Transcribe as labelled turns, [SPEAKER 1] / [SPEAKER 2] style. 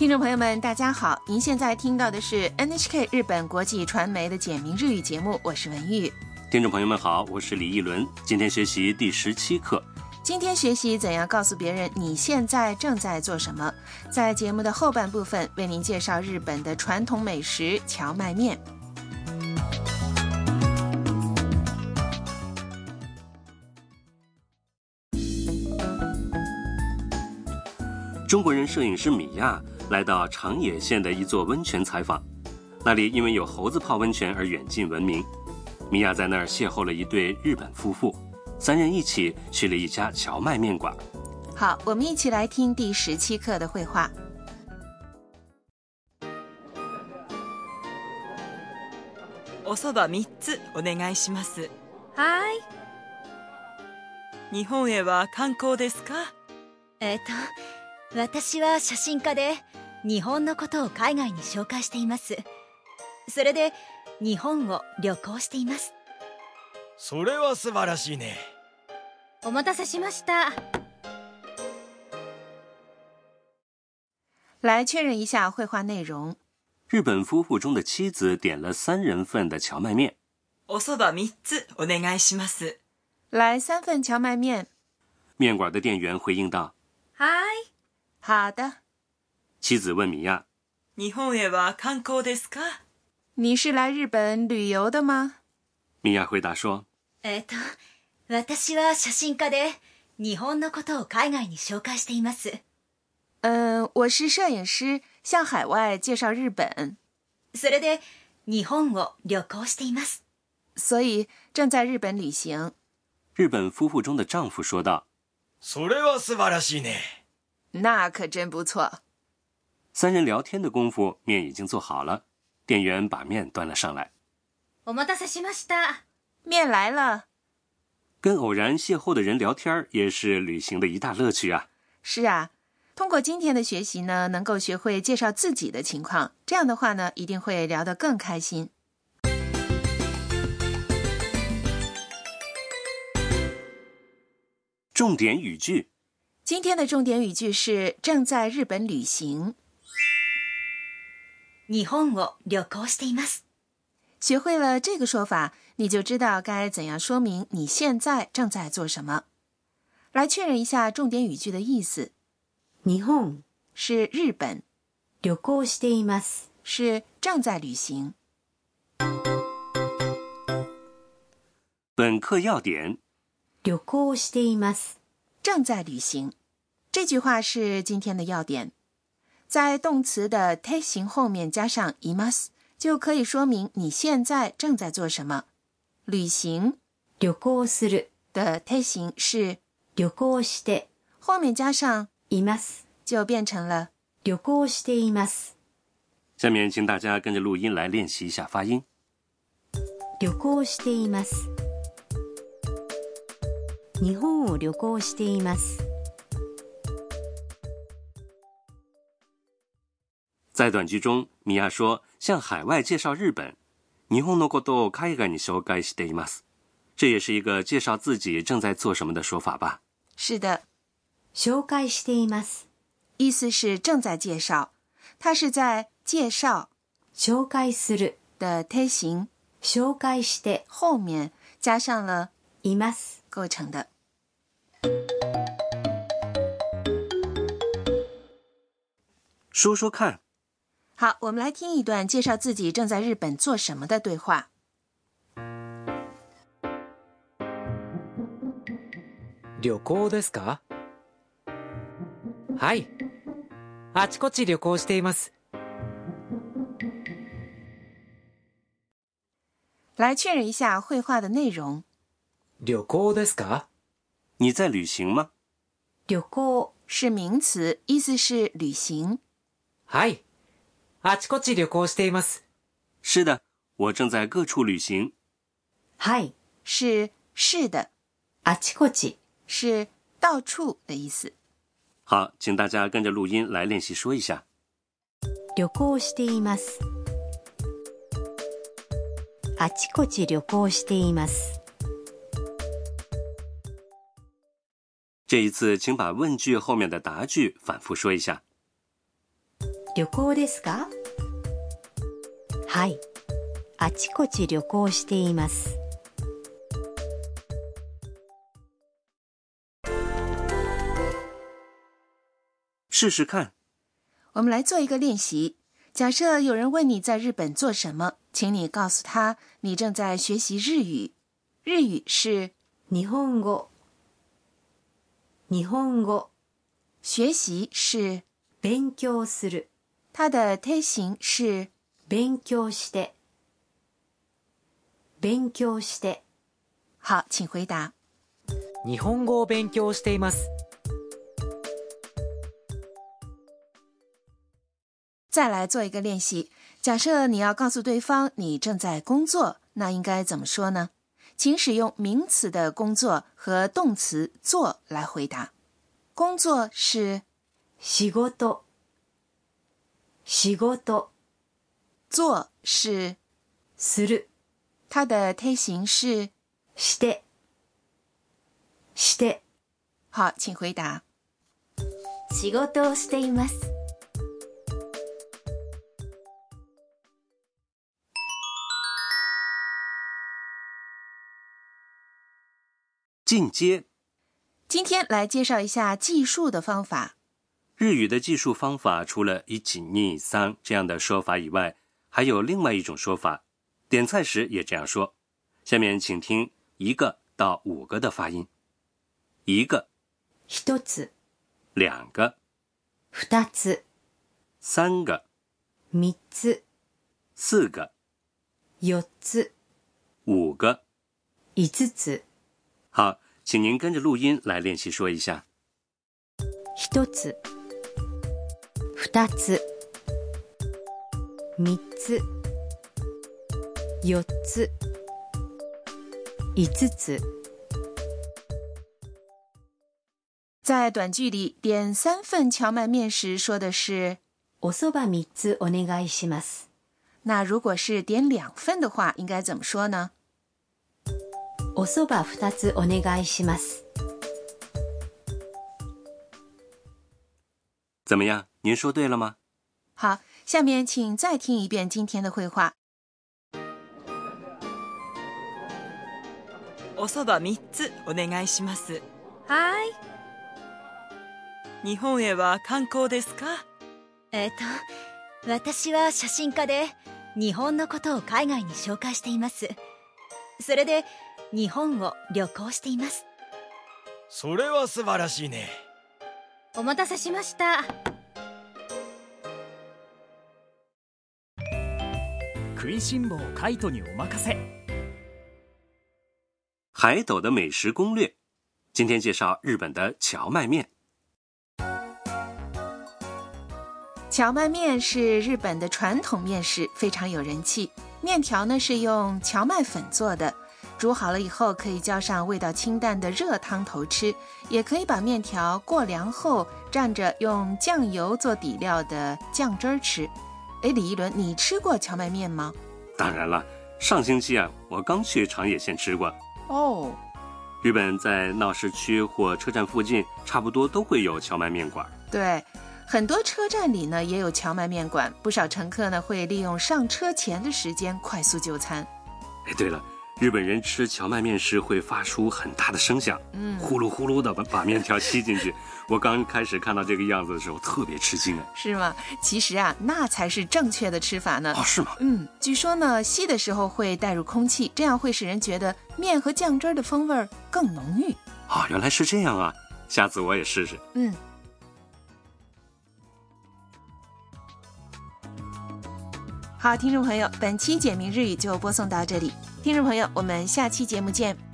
[SPEAKER 1] 听众朋友们大家好，您现在听到的是 NHK 日本国际传媒的简明日语节目，我是文玉。
[SPEAKER 2] 听众朋友们好，我是李一伦，今天学习第17课。
[SPEAKER 1] 今天学习怎样告诉别人你现在正在做什么。在节目的后半部分为您介绍日本的传统美食荞麦面。
[SPEAKER 2] 中国人摄影师米亚来到长野县的一座温泉采访，那里因为有猴子泡温泉而远近闻名。米亚在那儿邂逅了一对日本夫妇，三人一起去了一家荞麦面馆。
[SPEAKER 1] 好，我们一起来听第17课的绘画。
[SPEAKER 3] おそば3つお願いします。
[SPEAKER 4] はい。
[SPEAKER 3] 日本へは観光ですか？
[SPEAKER 4] 私は写真家で日本のことを海外に紹介しています。それで日本を旅行しています。
[SPEAKER 5] それは素晴らしいね。
[SPEAKER 4] お待たせしました。
[SPEAKER 1] 来确认一下绘画内容。
[SPEAKER 2] 日本夫妇中的妻子点了3人份的荞麦面。
[SPEAKER 3] おそば3つお願いします。
[SPEAKER 1] 来3份荞麦面。
[SPEAKER 2] 面馆的店员回应道：
[SPEAKER 4] はい。
[SPEAKER 1] 好的。
[SPEAKER 2] 妻子问米亚：
[SPEAKER 3] 日本へは観光ですか？
[SPEAKER 1] 你是来日本旅游的吗？
[SPEAKER 2] 米亚回答说：
[SPEAKER 4] 私は写真家で日本のことを海外に紹介しています。
[SPEAKER 1] 我是摄影师，向海外介绍日本。
[SPEAKER 4] それで日本を旅行しています。
[SPEAKER 1] 所以正在日本旅行。
[SPEAKER 2] 日本夫妇中的丈夫说道：
[SPEAKER 5] それは素晴らしいね。
[SPEAKER 1] 那可真不错。
[SPEAKER 2] 三人聊天的功夫，面已经做好了，店员把面端了上来。
[SPEAKER 4] お待たせしました。
[SPEAKER 1] 面来了。
[SPEAKER 2] 跟偶然邂逅的人聊天也是旅行的一大乐趣啊。
[SPEAKER 1] 是啊，通过今天的学习呢，能够学会介绍自己的情况，这样的话呢，一定会聊得更开心。
[SPEAKER 2] 重点语句。
[SPEAKER 1] 今天的重点语句是正在日本旅行。
[SPEAKER 4] 日本を旅行しています。
[SPEAKER 1] 学会了这个说法，你就知道该怎样说明你现在正在做什么。来确认一下重点语句的意思。
[SPEAKER 4] 日本
[SPEAKER 1] 是日本，
[SPEAKER 4] 旅行しています。
[SPEAKER 1] 是正在旅行。
[SPEAKER 2] 本课要点：
[SPEAKER 4] 旅行しています。
[SPEAKER 1] 正在旅行。这句话是今天的要点。在动词的て形后面加上います，就可以说明你现在正在做什么。旅行
[SPEAKER 4] 旅行する
[SPEAKER 1] 的て形是
[SPEAKER 4] 旅行して，
[SPEAKER 1] 后面加上
[SPEAKER 4] います，
[SPEAKER 1] 就变成了
[SPEAKER 4] 旅行しています。
[SPEAKER 2] 下面请大家跟着录音来练习一下发音。
[SPEAKER 4] 旅行しています。日本を旅行しています。
[SPEAKER 2] 在短句中，米亚说向海外介紹日本。日本のことを海外に紹介しています。这也是一个介绍自己正在做什么的说法吧？
[SPEAKER 1] 是的。
[SPEAKER 4] 紹介しています。
[SPEAKER 1] 意思是正在介绍，它是在介绍
[SPEAKER 4] 紹介する
[SPEAKER 1] 的て形
[SPEAKER 4] 紹介して
[SPEAKER 1] 后面加上了
[SPEAKER 4] います
[SPEAKER 1] 构成的。
[SPEAKER 2] 说说看。
[SPEAKER 1] 好，我们来听一段介绍自己正在日本做什么的对话。
[SPEAKER 6] 旅行ですか？はい。あちこち旅行しています。
[SPEAKER 1] 来确认一下绘画的内容。
[SPEAKER 6] 旅行ですか？
[SPEAKER 2] 你在旅行吗？
[SPEAKER 4] 旅行
[SPEAKER 1] 是名词，意思是旅行。
[SPEAKER 6] はい。あちこち旅行しています。
[SPEAKER 2] 是的，我正在各处旅行。
[SPEAKER 4] はい
[SPEAKER 1] 是的，
[SPEAKER 4] あちこち
[SPEAKER 1] 是到处的意思。
[SPEAKER 2] 好，请大家跟着录音来练习说一下。
[SPEAKER 4] 旅行しています。あちこち旅行しています。
[SPEAKER 2] 这一次请把问句后面的答句反复说一下。
[SPEAKER 4] 旅行ですか？はい。あちこち旅行しています。
[SPEAKER 2] 试试看。
[SPEAKER 1] 我们来做一个练习。假设有人问你在日本做什么，请你告诉他你正在学习日语。日语是
[SPEAKER 4] 日本語。日本語。
[SPEAKER 1] 学习是
[SPEAKER 4] 勉強する。
[SPEAKER 1] 它的推形是
[SPEAKER 4] 勉強して。勉強して。
[SPEAKER 1] 好，请回答。
[SPEAKER 6] 日本語を勉強しています。
[SPEAKER 1] 再来做一个练习。假设你要告诉对方你正在工作，那应该怎么说呢？请使用名词的工作和动词做来回答。工作是
[SPEAKER 4] 仕事。仕事。
[SPEAKER 1] 做是
[SPEAKER 4] する。
[SPEAKER 1] 它的推形是
[SPEAKER 4] して。して。
[SPEAKER 1] 好，请回答。
[SPEAKER 4] 仕事をしています。
[SPEAKER 2] 进阶。
[SPEAKER 1] 今天来介绍一下计数的方法。
[SPEAKER 2] 日语的计数方法除了1、2、3这样的说法以外，还有另外一种说法，点菜时也这样说。下面请听1个到5个的发音。1个、
[SPEAKER 4] 1つ、
[SPEAKER 2] 2个、
[SPEAKER 4] 2つ、
[SPEAKER 2] 3个、
[SPEAKER 4] 3つ、
[SPEAKER 2] 4个、
[SPEAKER 4] 4つ、
[SPEAKER 2] 5个、
[SPEAKER 4] 5つ。
[SPEAKER 2] 好，请您跟着录音来练习说一下。
[SPEAKER 4] 1つ、2つ、3つ、4つ、5つ。
[SPEAKER 1] 在短句里点3份荞麦面时说的是
[SPEAKER 4] おそば3つお願いします。
[SPEAKER 1] 那如果是点2份的话，应该怎么说呢？
[SPEAKER 4] おそば2つお願いします。
[SPEAKER 2] 怎么样？您说对了吗？
[SPEAKER 1] 好，下面请再听一遍今天的会话。
[SPEAKER 3] おそば3つお願いします。
[SPEAKER 4] はい。
[SPEAKER 3] 日本へは観光ですか？
[SPEAKER 4] 私は写真家で日本のことを海外に紹介しています。それで日本を旅行しています。
[SPEAKER 5] それは素晴らしいね。
[SPEAKER 4] お待たせしました。
[SPEAKER 7] 食いしん坊カイトにお任せ。
[SPEAKER 2] 海斗的美食攻略，今天介绍日本的荞麦面。
[SPEAKER 1] 荞麦面是日本的传统面食，非常有人气。面条呢是用荞麦粉做的，煮好了以后可以浇上味道清淡的热汤头吃，也可以把面条过凉后蘸着用酱油做底料的酱汁儿吃。李一伦，你吃过荞麦面吗？
[SPEAKER 2] 当然了，上星期我刚去长野县吃过。
[SPEAKER 1] 哦，
[SPEAKER 2] 日本在闹市区或车站附近差不多都会有荞麦面馆。
[SPEAKER 1] 对，很多车站里呢也有荞麦面馆，不少乘客呢会利用上车前的时间快速就餐。
[SPEAKER 2] 对了，日本人吃荞麦面时会发出很大的声响，呼噜呼噜的把面条吸进去。我刚开始看到这个样子的时候特别吃惊。
[SPEAKER 1] 是吗？其实那才是正确的吃法呢。
[SPEAKER 2] 是吗？
[SPEAKER 1] 据说呢吸的时候会带入空气，这样会使人觉得面和酱汁的风味更浓郁。
[SPEAKER 2] 原来是这样啊，下次我也试试。
[SPEAKER 1] 好，听众朋友，本期简明日语就播送到这里。听众朋友，我们下期节目见。